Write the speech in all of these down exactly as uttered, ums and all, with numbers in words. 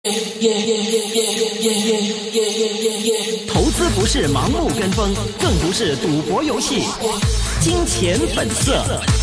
投資不是盲目跟風，更不是賭博遊戲。金錢本色。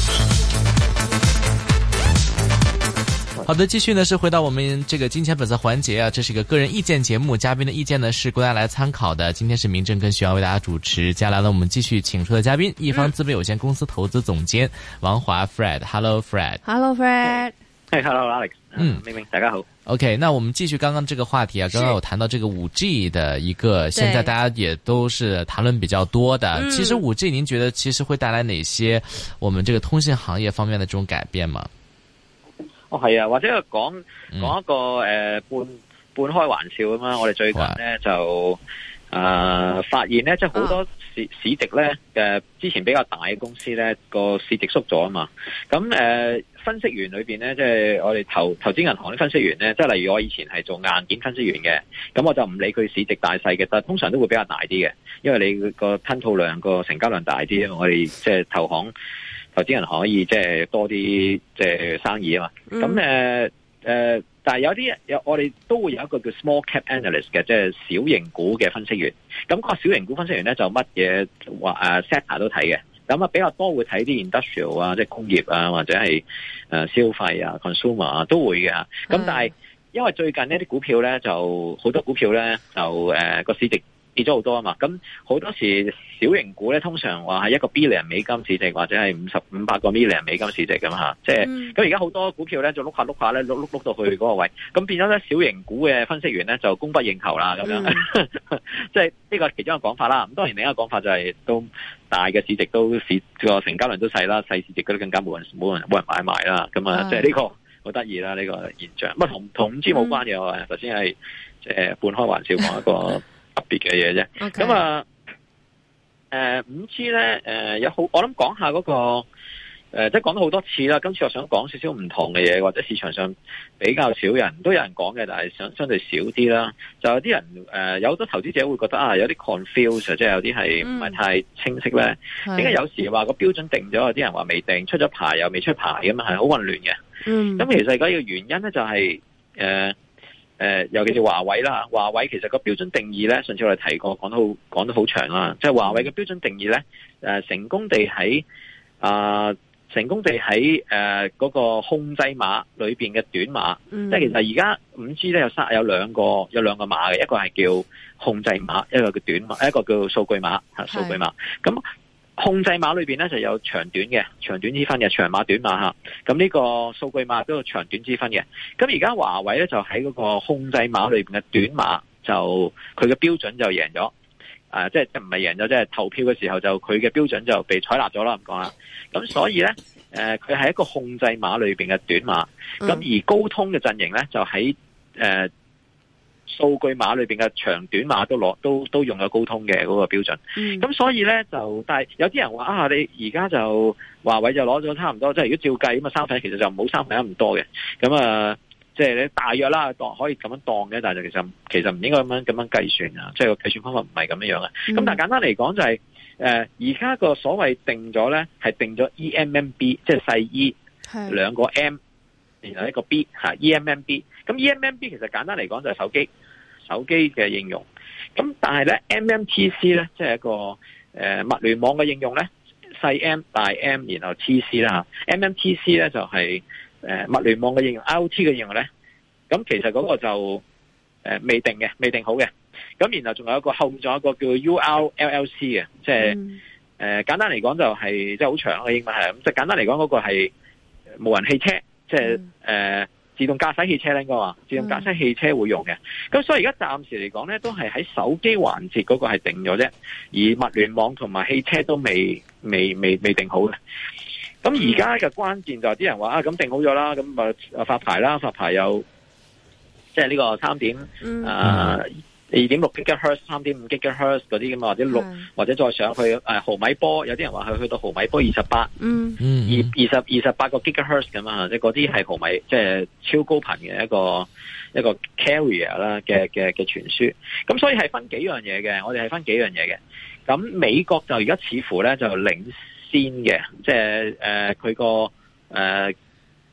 好的，繼續呢是回到我們這個金錢本色環節啊，這是一個個人意見節目，嘉賓的意見呢是供大家來參考的。今天是明正跟徐陽為大家主持，接下來呢我們繼續請出的嘉賓，一方資本有限公司投資總監王華 Fred。Hello Fred。Hello Fred。 Hey, hello Alex。 嗯， 明明大家好。 OK， 那我們繼續剛剛這個話題啊，剛剛有談到這個五 G 的一個，現在大家也都是談論比較多的。其實五 G 您覺得其實會帶來哪些我們這個通信行業方面的這種改變嗎？ 哦，係啊，或者講講一個誒、呃、半半開玩笑咁嘛。我哋最近咧就誒、呃、發現咧，即係好多市市值咧嘅之前比較大嘅公司咧個市值縮咗啊嘛。咁誒、呃、分析員裏邊咧，即係我哋投投資銀行啲分析員咧，即係例如我以前係做硬件分析員嘅，咁我就唔理佢市值大細嘅，但係通常都會比較大啲嘅，因為你個吞吐量個成交量大啲，因為我哋即係投行。投資人可以即係多啲即係生意啊嘛，咁誒誒，但係有啲有我哋都會有一個叫 small cap analyst 嘅，即係小型股嘅分析員。咁個小型股分析員咧就乜嘢話誒 sector 都睇嘅，咁啊比較多會睇啲 industrial 啊，即係工業啊，或者係誒消費啊 consumer 啊都會嘅。咁但係因為最近呢啲股票咧就好多股票咧就誒個、呃、市值跌咗好多啊嘛，咁好多時小型股咧通常話係一個 billion 美金市值或者係五十五百個 million 美金市值咁吓，即係咁而家好多股票咧就碌下碌下咧碌碌碌到去嗰個位，咁變咗咧小型股嘅分析員咧就供不應求啦咁樣，即係呢個其中一個講法啦。咁當然另一個講法就係、是、都大嘅市值都市個成交量都細啦，細市值嗰啲更加冇人冇人冇人買賣啦。咁啊，即係呢個好得意啦呢個現象。咁啊同同五 G 冇關嘅，我頭先係即係半開玩笑講一個特別嘅嘢啫。咁、okay. 啊。誒，五 G 咧，誒有好，我諗講下嗰個，誒即係講咗好多次啦。今次我想講少少唔同嘅嘢，或者市場上比較少人都有人講嘅，但係相相對少啲啦。就有啲人誒，有好多投資者會覺得啊，有啲 confuse，即係有啲係唔係太清晰咧。點解有時話個標準定咗，有啲人話未定，出咗牌又未出牌咁啊，係好混亂嘅。嗯，咁其實而家個原因咧就係、是、誒。呃誒、呃，尤其是華為啦，華為其實個標準定義咧，上次我哋提過，講得好講得好長啦。即係華為嘅標準定義咧，誒、呃，成功地喺啊、呃，成功地喺誒嗰個控制碼裏邊嘅短碼，嗯、即係其實而家五 G 咧有三有兩個有兩個碼嘅，一個係叫控制碼，一個叫短碼，一個叫數據碼吓，數據碼咁。控制碼裏邊咧就有長短嘅，長短之分嘅，長碼短碼吓。咁呢個數據碼都有長短之分嘅。咁而家華為咧就喺嗰個控制碼裏邊嘅短碼，就佢嘅標準就贏咗。誒、呃，即係即係唔係贏咗，即係投票嘅時候就佢嘅標準就被採納咗啦。咁講啦。咁所以咧，誒、呃，佢係一個控制碼裏邊嘅短碼。咁、嗯、而高通嘅陣營咧就喺誒。呃數據碼裏邊嘅長短碼都攞都都用咗高通嘅嗰個標準，咁、嗯、所以咧就，但係有啲人話啊，你而家就華為就攞咗差唔多，即係如果照計咁啊，三分其實就冇三分一咁多嘅，咁啊，即係你大約啦，當可以咁樣當嘅，但係其實其實唔應該咁樣咁樣計算啊，即係個計算方法唔係咁樣樣嘅。咁、嗯、但係簡單嚟講就係、是，誒而家個所謂定咗咧係定咗 E M M B， 即係細 E 兩個 M， 然後一個 B 吓 E M M B。咁 E M M B 其實簡單嚟講就係手機，手機嘅應用。咁但係咧 M M T C 咧，即係一個誒、呃、物聯網嘅應用咧，細 M 大 M 然後 T C 啦。M M T C 咧就係、是、誒、呃、物聯網嘅應用 I O T 嘅應用咧。咁其實嗰個就誒、呃、未定嘅，未定好嘅。咁然後仲有一個後面仲有一個叫 U R L L C 嘅，即係誒、呃、簡單嚟講就係即係好長嘅英文係咁。即係簡單嚟講嗰個係無人汽車，即係誒。呃自動駕駛汽車咧，應該話自動駕駛汽車會用嘅。咁、嗯、所以而家暫時嚟講咧，都係喺手機環節嗰個係定咗啫，而物聯網同埋汽車都未未未未定好嘅。咁而家嘅關鍵就係啲人話啊，咁定好咗啦，咁啊發牌啦，發牌有即係呢個三點啊。二點六 gigahertz、三點五 gigahertz 嗰啲咁啊，或者六或者再上去誒、呃、毫米波，有啲人話去去到毫米波二十八，嗯，二二十二十八個 gigahertz 咁啊，即係嗰啲係毫米，即係超高頻嘅一個一個 carrier 啦嘅嘅嘅傳輸。咁所以係分幾樣嘢嘅，我哋係分幾樣嘢嘅。咁美國就而家似乎咧就領先嘅，即係誒佢個誒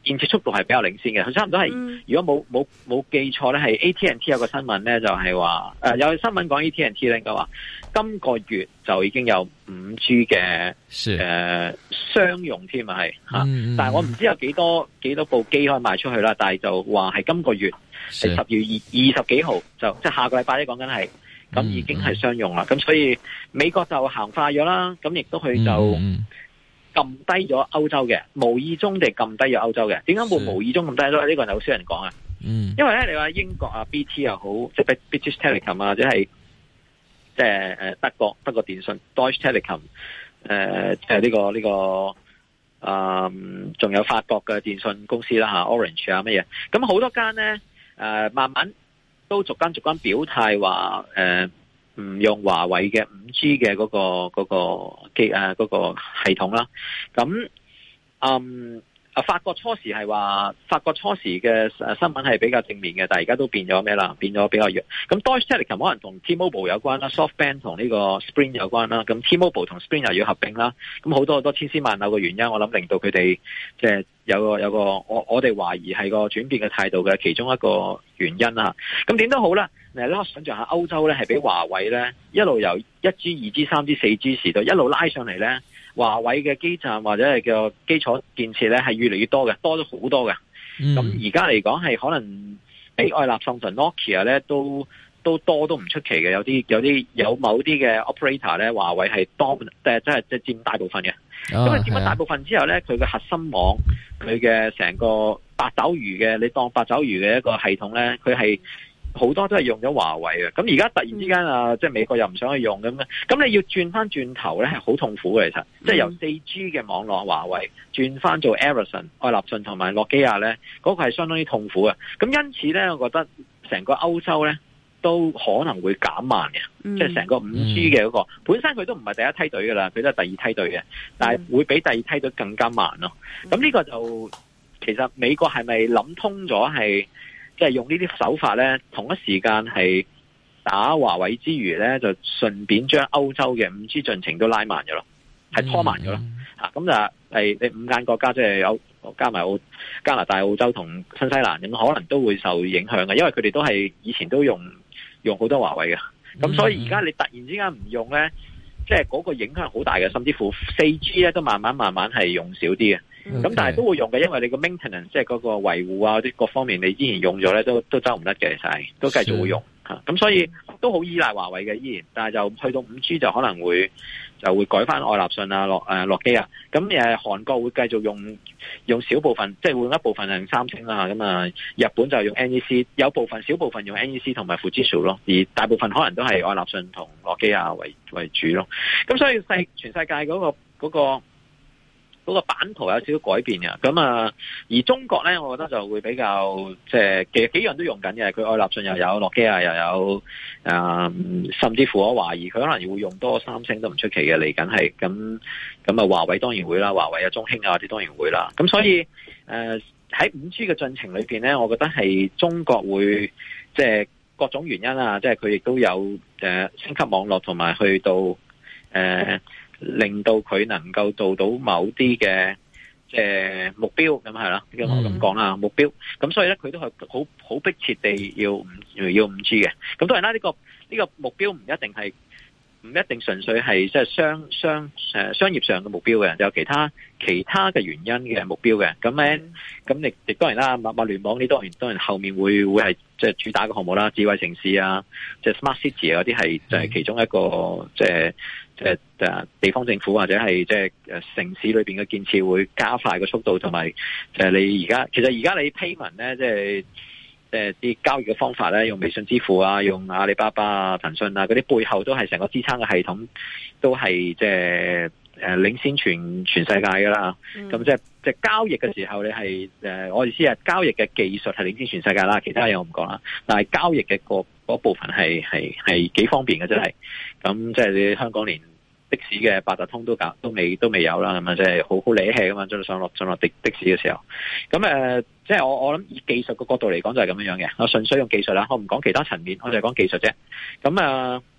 建設速度係比較領先嘅。佢差唔多係，嗯、如果冇冇冇記錯咧，係 A T and T 有個新聞咧，就係話誒有新聞講 A T and T 咧，應該話今個月就已經有五 G 嘅誒商用添啊，係吓。嗯、但係我唔知有幾多幾多部機可以賣出去啦。但係就話係今個月係十月二二十幾號，就即係下個禮拜咧講緊係。咁已經係商用啦，咁、嗯、所以美國就行快咗啦，咁亦都佢就撳低咗歐洲嘅，無意中地撳低咗歐洲嘅。點解會無意中撳低咗？呢、這個就好少人講啊。嗯，因為咧，你話英國啊 B T 又好，即係 British Telecom 啊，或者係即係誒德國德國電信 Deutsche Telekom， 誒即係呢個呢、這個，嗯，仲有法國嘅電信公司啦吓 Orange 啊乜嘢，咁好多間咧誒、呃、慢慢。都逐間逐間表態話，誒、呃、唔用華為嘅五 G 嘅嗰、嗰個嗰、嗰個機誒嗰個系統啦。咁嗯啊，法國初時係話，法國初時嘅新聞係比較正面嘅，但係而家都變咗咩啦？變咗比較弱。咁 Deutsche Telekom 可能同 T-Mobile 有關啦 ，SoftBank 同呢個 Sprint 有關啦。咁 T-Mobile 同 Sprint 又要合併啦。咁好多好多千絲萬縷嘅原因，我諗令到佢哋即係有個有個我我哋懷疑係個轉變嘅態度嘅其中一個原因啦。咁點都好啦，你可想象下歐洲咧係俾華為咧一路由一 G、二 G、三 G、四 G 時代一路拉上嚟咧。華為嘅基站或者係個基礎建設咧係越嚟越多嘅，多咗好多嘅。咁而家嚟講係可能比愛立信同 Nokia 咧都都多都唔出奇嘅，有啲有啲有某啲嘅 operator 咧，華為係多誒，即係即係佔大部分嘅。咁佢佔咗大部分之後咧，佢嘅核心網，佢嘅成個八爪魚嘅，你當八爪魚嘅一個系統咧，佢係。好多都係用咗華為嘅，咁而家突然之間啊，即係美國又唔想去用咁樣，咁你要轉翻轉頭咧係好痛苦嘅，其實，即係由四 G 嘅網絡華為轉翻做 Ericsson、愛立信同埋諾基亞咧，嗰個係相當之痛苦嘅。咁因此咧，我覺得成個歐洲咧都可能會減慢嘅，即係成個五 G 嘅嗰個本身佢都唔係第一梯隊噶啦，佢都係第二梯隊嘅，但係會比第二梯隊更加慢咯。咁呢個就其實美國係咪諗通咗係？即係用呢啲手法咧，同一時間係打華為之餘咧，就順便將歐洲嘅五 G 進程都拉慢咗咯，係拖慢咗咯。吓咁、嗯啊、就係你五間國家，即係有加埋澳加拿大、澳洲同新西蘭咁，可能都會受影響嘅，因為佢哋都係以前都用用好多華為嘅。咁所以而家你突然之間唔用咧，即係嗰個影響好大嘅，甚至乎四 G 咧都慢慢慢慢係用少啲嘅。咁、okay. 但係都會用嘅，因為你個 maintenance 即係嗰個維護啊，啲各方面你之前用咗咧，都都走唔甩嘅，其實係都繼續會用吓。咁所以都好依賴華為嘅依然，但係就去到五 G 就可能會就會改翻愛立信啊、諾誒諾基啊。咁誒韓國會繼續用用少部分，即係換一部分係用三星啦。咁啊，日本就用 N E C， 有部分小部分用 N E C 同埋富士通咯，而大部分可能都係愛立信同諾基亞為為主咯。咁所以世全世界嗰個嗰個。嗰個嗰、那個版圖有少少改變嘅，咁啊，而中國咧，我覺得就會比較即係其實幾樣都用緊嘅，佢愛立信又有，諾基亞又有，啊、嗯，甚至乎我懷疑佢可能會用多三星都唔出奇嘅，嚟緊係咁咁啊，華為當然會啦，華為啊、中興啊啲當然會啦，咁所以誒喺五 G 嘅進程裏邊咧，我覺得係中國會即係各種原因啊，即係佢亦都有誒、呃、升級網絡同埋去到誒。呃令到佢能夠做到某啲嘅即係目標，咁係啦，咁我咁講啦，目標。咁所以咧，佢都係好好迫切地要五要五 G 嘅。咁當然啦，呢、這個呢、這個目標唔一定係唔一定純粹係即係商商誒商業上嘅目標嘅，有其他其他嘅原因嘅目標嘅。咁咧，咁亦亦當然啦，物物聯網呢當然當然後面會會係即係主打嘅項目啦，智慧城市啊，即係 Smart City 啊嗰啲係就係其中一個即係。即係誒，地方政府或者係即係誒城市裏邊嘅建設會加快個速度，同埋誒你而家其實而家你 payment 咧，即係即係啲交易嘅方法咧，用微信支付啊，用阿里巴巴啊、騰訊啊嗰啲背後都係成個支撐嘅系統，都係即係誒領先全全世界噶啦。咁即係即係交易嘅時候，你係誒我意思係交易嘅技術係領先全世界啦，其他嘢我唔講啦。但係交易嘅個嗰部分係係係幾方便嘅，真係。咁即係你香港連的士嘅八達通都搞都未都未有啦，咁啊即係好好理氣咁嘛，上落上落的的士嘅時候，咁誒即係我我諗以技術嘅角度嚟講就係咁樣樣嘅，我純粹用技術啦，我唔講其他層面，我就係講技術啫。咁啊，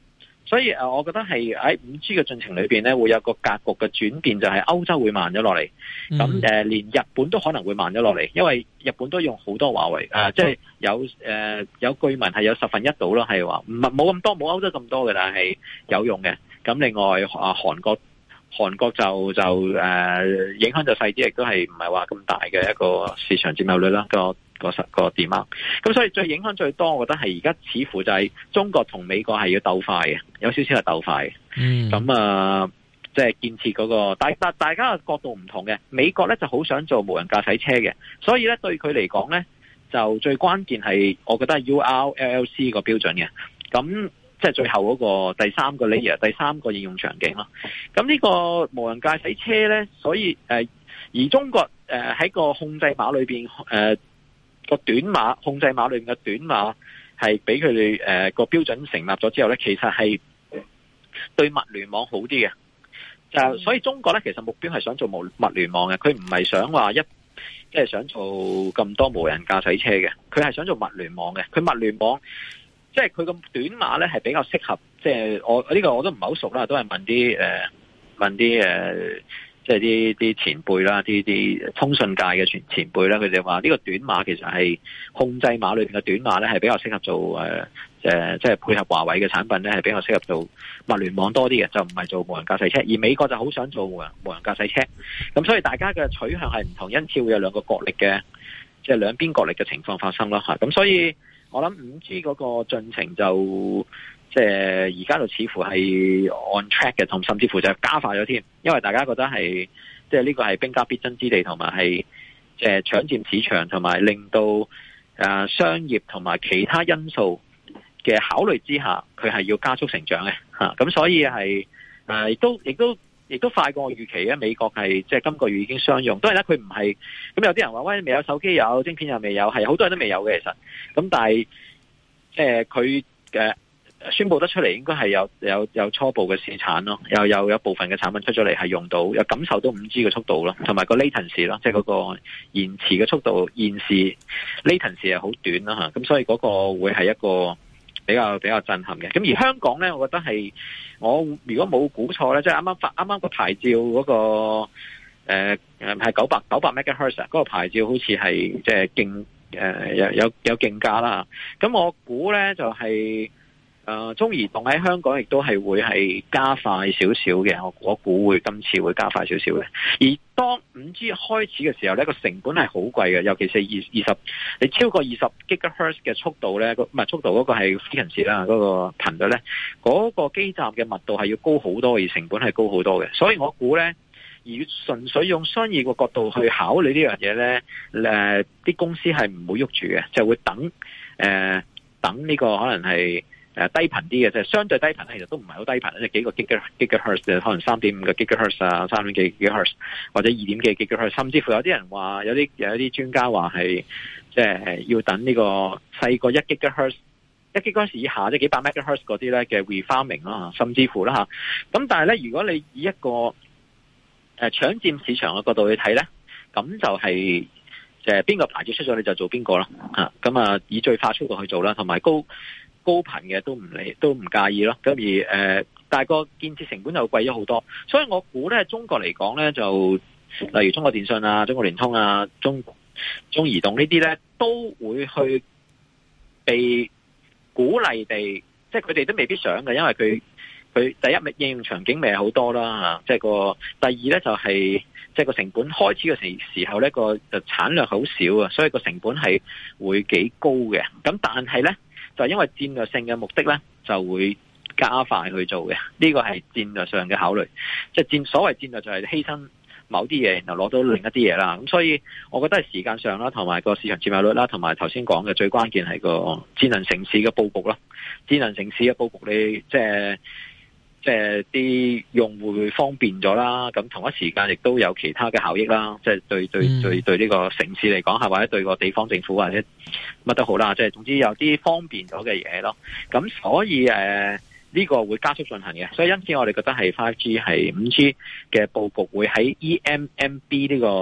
所以誒，我覺得係喺五 G 嘅進程裏邊咧，會有個格局嘅轉變，就係歐洲會慢咗落嚟，咁誒、 嗯呃、連日本都可能會慢咗落嚟，因為日本都用好多華為誒，即、呃、係、就是、有誒、呃、有據聞係有十分一度咯，係話唔係冇咁多，冇歐洲咁多嘅，但係有用嘅。咁另外啊，韓國韓國就就誒、呃、影響就細啲，亦都係唔係話咁大嘅一個市場佔有率啦，個個實個點啊。咁所以最影響最多，我覺得係而家似乎就係中國同美國係要鬥快嘅，有少少係鬥快嘅。 嗯， 咁啊，即係建設嗰個，大大大家嘅角度唔同嘅。美國咧就好想做無人駕駛車嘅，所以咧對佢嚟講咧，就最關鍵係，我覺得係 U R L L C 個標準嘅。咁即係最後嗰個第三個 layer，第三個應用場景咯。咁呢個無人駕駛車咧，所以誒、呃，而中國誒喺、呃、個控制碼裏邊誒個短碼控制碼裏邊嘅短碼係俾佢哋誒個標準成立咗之後咧，其實係對物聯網好啲嘅。就所以中國咧，其實目標係想做無物聯網嘅，佢唔係想話一即係想做咁多無人駕駛車嘅，佢係想做物聯網嘅。佢物聯網。即係佢咁短碼咧，係比較適合。即係我呢、這個我都唔係好熟啦，都係問啲誒、呃、問啲誒、呃，即係啲啲前輩啦，啲啲通訊界嘅前前輩啦，佢哋話呢個短碼其實係控制碼裏邊嘅短碼咧，係比較適合做誒誒、呃，即係配合華為嘅產品咧，係比較適合做物聯網多啲嘅，就唔係做無人駕駛車。而美國就好想做無人無人駕駛車，咁所以大家嘅取向係唔同，因此會有兩個角力嘅，即係兩邊角力嘅情況發生咯嚇。咁所以。我諗五 G 嗰個進程就即係而家就似乎係 on track 嘅，同甚至乎就加快咗添，因為大家覺得係即係呢個係兵家必爭之地，同埋係即係搶佔市場，同埋令到誒商業同埋其他因素嘅考慮之下，佢係要加速成長嘅吓。咁所以係誒亦都亦都。亦都快過我預期啊！美國係即係今個月已經商用，當然啦，佢唔係咁。有啲人話喂，未有手機有晶片又未有，係好多人都未有嘅其實。咁但係即係佢嘅宣佈得出嚟，應該係有有有初步嘅試產咯，又有有部分嘅產品出咗嚟係用到，有感受到五 G 嘅速度咯，同埋個 latency 咯，即係嗰個延遲嘅速度，現時 latency 係好短啦嚇。咁所以嗰個會係一個比較比較震撼嘅。咁而香港咧，我覺得係。我如果冇估錯咧，即係啱啱發啱啱個牌照嗰、那個誒誒係九百九百 megahertz 嗰個牌照，好似係即係競誒有有有競價啦。咁我估咧就係、是、誒、呃、中移動喺香港亦都係會係加快少少嘅。我我估會今次會加快少少嘅。而當五 G 開始嘅時候咧，個成本係好貴嘅，尤其是二二十你超過二十 gigahertz 嘅速度咧，唔係速度嗰個係 frequency 啦，嗰個頻率咧，嗰、那個基站嘅密度係要高好多，而成本係高好多嘅。所以我估咧，而純粹用商業嘅角度去考慮呢樣嘢咧，誒、呃、啲公司係唔會喐住嘅，就會等誒、呃、等呢個可能係。誒低頻啲嘅，即係相對低頻咧，其實都唔係好低頻，即係幾個 giga gigahertz，可能三點五個 gigahertz 啊，三點幾 gigahertz 或者二點幾 gigahertz，甚至乎有啲人話，有啲有啲專家話係即係要等呢個細過一 gigahertz，一 gigahertz 以下即係幾百 megahertz 嗰啲咧嘅 refarming 啦，甚至乎啦嚇。咁但係咧，如果你以一個誒搶佔市場嘅角度去睇咧，咁就係即係邊個牌子出咗你就做邊個啦嚇。咁啊，以最快速度去做啦，同埋高。高頻嘅都唔理，都唔介意咯。咁而誒、呃，但係個建設成本就貴咗好多，所以我估咧，中國嚟講咧，就例如中國電信啊、中國聯通啊、中中移動呢啲咧，都會去被鼓勵地，即係佢哋都未必想嘅，因為佢佢第一應用場景未係好多啦嚇，即係個第二咧就係即係個成本開始嘅時時候咧個就產量好少啊，所以個成本係會幾高嘅。咁但係咧。就係因為戰略性嘅目的咧，就會加快去做嘅。呢個係戰略上嘅考慮，即係戰所謂戰略就係犧牲某啲嘢，然後攞到另一啲嘢啦。咁所以我覺得係時間上啦，同埋個市場佔有率啦，同埋頭先講嘅最關鍵係個智能城市嘅佈局咯。智能城市嘅佈局你即係。即係啲用戶會方便咗啦，咁同一時間亦都有其他嘅效益啦。即係對對對對呢個城市嚟講，係或者對個地方政府或者乜都好啦。即係總之有啲方便咗嘅嘢咯。咁所以誒呢個會加速進行嘅。所以因此我哋覺得係 五 G 係五 G 嘅佈局會喺 E M M B 呢個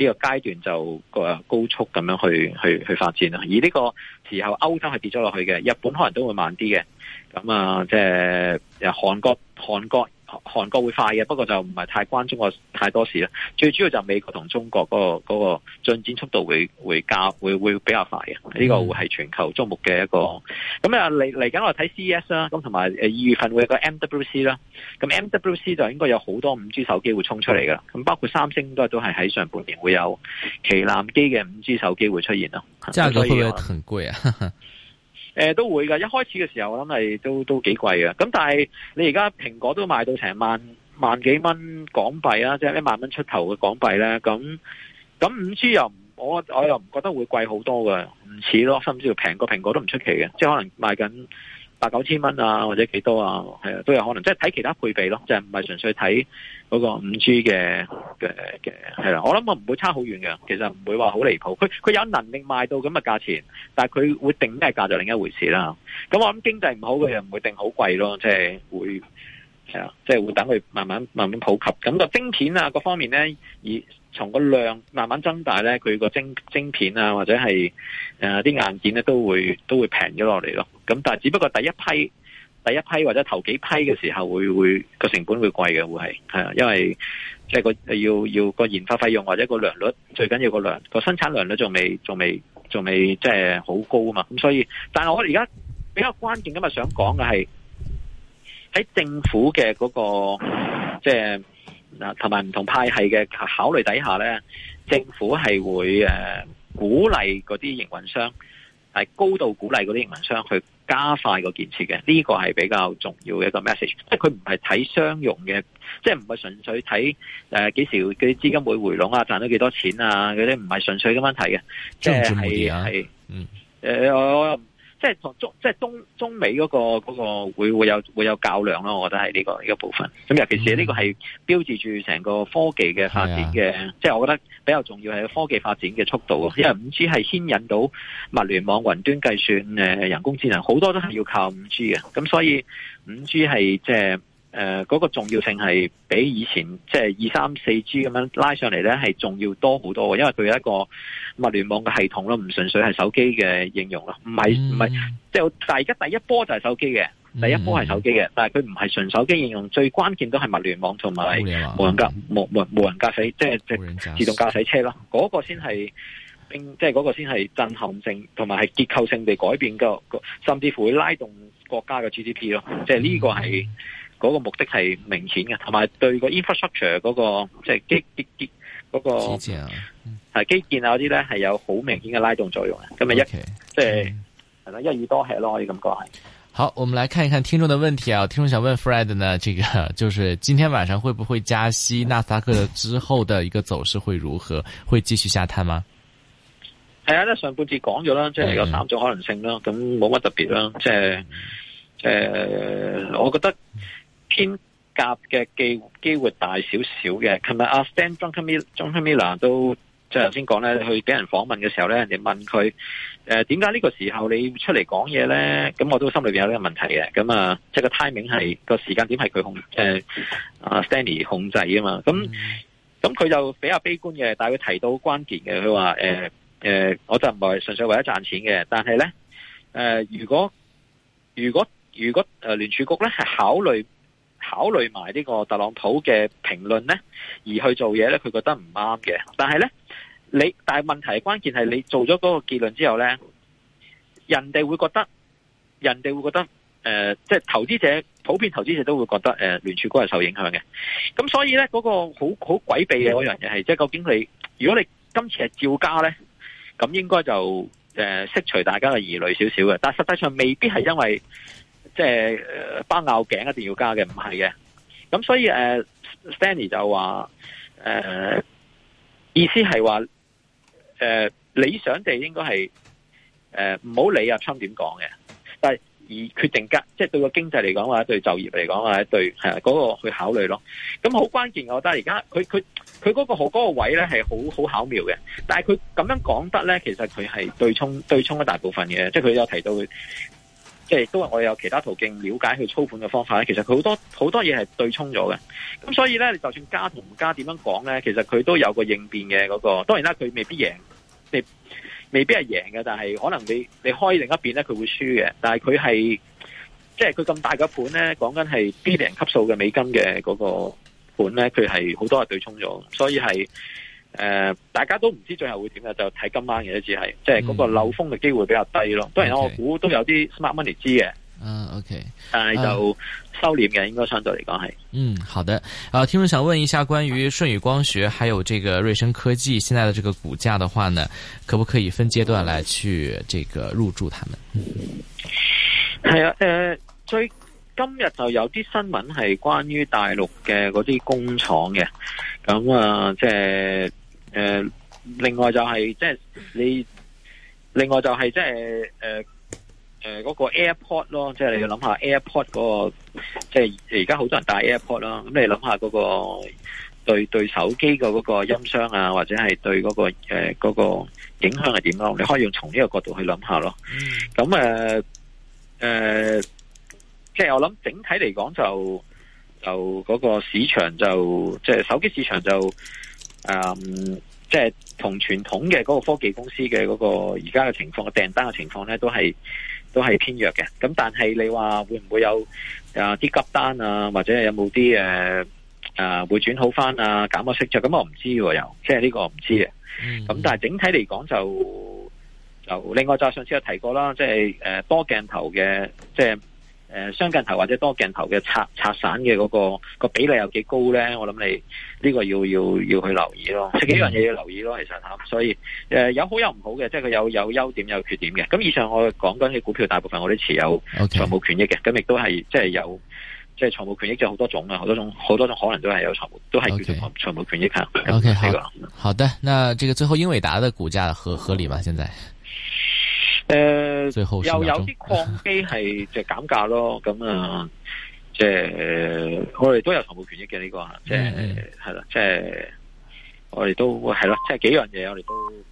呢個階段就個高速咁樣去去去發展啦。而呢個時候歐洲係跌咗落去嘅，日本可能都會慢啲嘅。咁啊，即係韓國韓國。韓國會快嘅，不過就唔係太關中國太多事啦。最主要就美國同中國嗰個嗰個進展速度會會加會會比較快嘅。呢個會係全球矚目嘅一個。咁啊嚟嚟緊我睇 C E S 啦，咁同埋誒二月份會有個 M W C 啦。咁 M W C 就應該有好多五 G 手機會衝出嚟噶。咁包括三星都都係喺上半年會有旗艦機嘅五 G 手機會出現咯。 價格會唔會很貴啊？ 誒、呃，都會噶，一開始嘅時候我諗係都都幾貴嘅，咁但係你而家蘋果都賣到成萬萬幾蚊港幣啊，即係一萬蚊出頭嘅港幣咧，咁咁五 G 又我我又唔覺得會貴好多嘅，唔似咯，甚至乎平過蘋果都唔出奇嘅，即係可能賣緊八九千蚊啊，或者幾多啊，係啊，都有可能，即係睇其他配備咯，就係唔係純粹睇嗰個五 G 嘅嘅嘅係啦。我諗我唔會差好遠嘅，其實唔會話好離譜。佢佢有能力賣到咁嘅價錢，但係佢會定咩價就另一回事啦。咁我諗經濟唔好嘅又唔會定好貴咯，即係會係啊，即係會等佢慢慢慢慢普及。咁個晶片啊各方面咧，而從個量慢慢增大咧，佢個晶晶片啊或者係誒啲硬件咧都會都會平咗落嚟咯。咁但係只不過第一批第一批或者頭幾批嘅時候會會個成本會貴嘅，會係係啊，因為即係個要要個研發費用或者個良率，最緊要個量個生產良率仲未仲未仲未即係好高啊嘛。咁所以，但係我而家比較關鍵今日想講嘅係喺政府嘅嗰個即係嗱同埋唔同派系嘅考慮底下咧，政府係會誒鼓勵嗰啲營運商，係高度鼓勵嗰啲營運商去加快個建設嘅，呢個係比較重要嘅一個 message。即係佢唔係睇商用嘅，即係唔係純粹睇誒幾時嗰啲資金會回籠啊，賺到幾多錢啊嗰啲，唔係純粹咁樣睇嘅。即係係係嗯誒我。即係同中，即係中中美嗰個嗰個會會有會有較量咯，我覺得係呢個呢個部分。咁尤其是呢個係標誌住成個科技嘅發展嘅，嗯、即係我覺得比較重要係科技發展嘅速度。因為五 G 係牽引到物聯網、雲端計算、誒人工智能，好多都係要靠五 G 嘅。咁所以五 G 係即係。誒，嗰、呃那個重要性係比以前即係二三四 G 咁樣拉上嚟咧，係重要多好多嘅，因為佢有一個物聯網嘅系統咯，唔純粹係手機嘅應用咯，唔係唔係，即係但係而家第一波就係手機嘅，第一波係手機嘅，但係佢唔係純手機應用，最關鍵都係物聯網同埋無人駕無無無人駕駛，即係即係自動駕駛車咯，嗰、那個先係，即係嗰個先係震撼性同埋係結構性地改變個，甚至乎會拉動國家嘅 G D P 咯，即係呢個係。嗰個目的係明顯嘅，同埋對個 infrastructure 嗰個即係基基基嗰個係基建啊嗰啲咧係有好明顯嘅拉動作用嘅。咁咪一即係係啦，一語多吃咯，可以咁講係。 好，我們來看一看聽眾的問題啊。聽眾想問 Fred 呢，這個就是今天晚上會不會加息？納斯達克之後的一個走勢會如何？會繼續下探嗎？ 係啊，上半節講咗啦，即係有三種可能性啦，咁冇乜特別啦，即係誒，我覺得。偏鴿嘅機機會大少少嘅。琴日阿 Stan Druckenmiller 都即係頭先講咧，去俾人訪問嘅時候咧，人哋問佢誒點解呢個時候你出嚟講嘢咧？咁我都心裏邊有呢個問題嘅。咁啊，即係個 timing 係個時間點係佢控誒阿 Stanley 控制啊嘛。咁咁佢就比較悲觀嘅，但係佢提到關鍵嘅，佢話誒誒，我就唔係純粹為咗賺錢嘅，但係咧誒，如果如果如果誒聯儲局咧係考慮。考慮埋呢個特朗普嘅評論呢，而去做嘢呢，佢覺得唔啱嘅。但係呢，你但係問題關鍵係你做咗嗰個結論之後呢，人哋會覺得，人哋會覺得，誒、呃，即係投資者普遍投資者都會覺得，誒、呃，聯儲局係受影響嘅。咁所以呢，嗰、嗰個好好詭秘嘅嗰樣嘢係，即係究竟你，如果你今次係照加呢，咁應該就誒、呃、釋除大家嘅疑慮少少嘅。但係實際上未必係因為。即係誒，包拗頸一定要加嘅，唔係嘅。咁所以誒、呃、Stanley 就話誒、呃，意思係話誒，理想地應該係誒唔好理阿 Trump 點講嘅，但係而決定加，即係對個經濟嚟講或者對就業嚟講或者對係嗰個去考慮咯。咁好關鍵，我覺得而家佢佢佢嗰個嗰個位咧係好好巧妙嘅，但係佢咁樣講得咧，其實佢係對沖對沖一大部分嘅，即係佢有提到。 即係都係我哋有其他途徑了解佢操盤嘅方法咧。其實佢好多好多嘢係對沖咗嘅。咁所以咧，你就算加同唔加點樣講咧，其實佢都有個應變嘅嗰個。當然啦，佢未必贏，未未必係贏嘅，但係可能你你開另一邊咧，佢會輸嘅。但係佢係即係佢咁大嘅盤咧，講緊係 billion 級數嘅美金嘅嗰個盤咧，佢係好多係對沖咗，所以係。誒、呃，大家都唔知最後會點嘅，就睇今晚嘅，只係即係嗰個漏風嘅機會比較低咯。當然我估都有啲 smart money 知嘅， 嗯 ，OK， 但係就收斂嘅，應該相對嚟講係。嗯， 好的。啊，聽眾想問一下關於舜宇光學還有這個瑞聲科技現在的這個股價的話呢，可不可以分階段來去這個入駐他們？ 係啊，誒、呃，最今日就有啲新聞係關於大陸嘅嗰啲工廠嘅，咁啊，即係。誒、呃，另外就係即係你，另外就係即係誒誒嗰個 AirPod 咯，即係你要諗下 AirPod 嗰個，即係而家好多人戴 AirPod 啦，咁你諗下嗰個對對手機嘅嗰個音箱啊，或者係對嗰個誒嗰個影響係點咯？你可以用從呢個角度去諗下咯。咁誒誒，即係我諗整體嚟講就就嗰個市場就即係手機市場就。誒、嗯，即係同傳統嘅嗰個科技公司嘅嗰個而家嘅情況嘅訂單嘅情況咧，都係都係偏弱嘅。咁但係你話會唔會有啊啲急單啊，或者有冇啲誒誒會轉好翻啊，減咗息就咁我唔知喎，又即係呢個我唔知嘅。咁、嗯、但係整體嚟講就就另外就上次有提過啦，即係誒多鏡頭嘅即係。誒，雙鏡頭或者多鏡頭嘅拆拆散嘅嗰、那個個比例有幾高咧？我諗你呢個要要要去留意咯，即係幾樣嘢要留意咯。其實吓，所以誒、呃、有好有唔好嘅，即係佢有有優點有缺點嘅。咁以上我講緊嘅股票，大部分我都持有財務權益嘅，咁亦都係即係有即係財務權益，就好多種啊，好多種好多種可能都係有財務，都係叫做財務權益吓。 O K， 好，好的，那這個最後英偉達的股價合合理嗎？現在？ 誒、呃，又有啲礦機係就減價咯，咁啊，即係我哋都有財務權益嘅呢、這個，即係係啦，即係我哋都係咯，即係幾樣嘢我哋都。